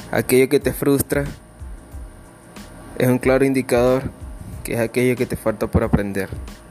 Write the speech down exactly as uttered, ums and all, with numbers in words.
Aquello que te frustra es un claro indicador que es aquello que te falta por aprender.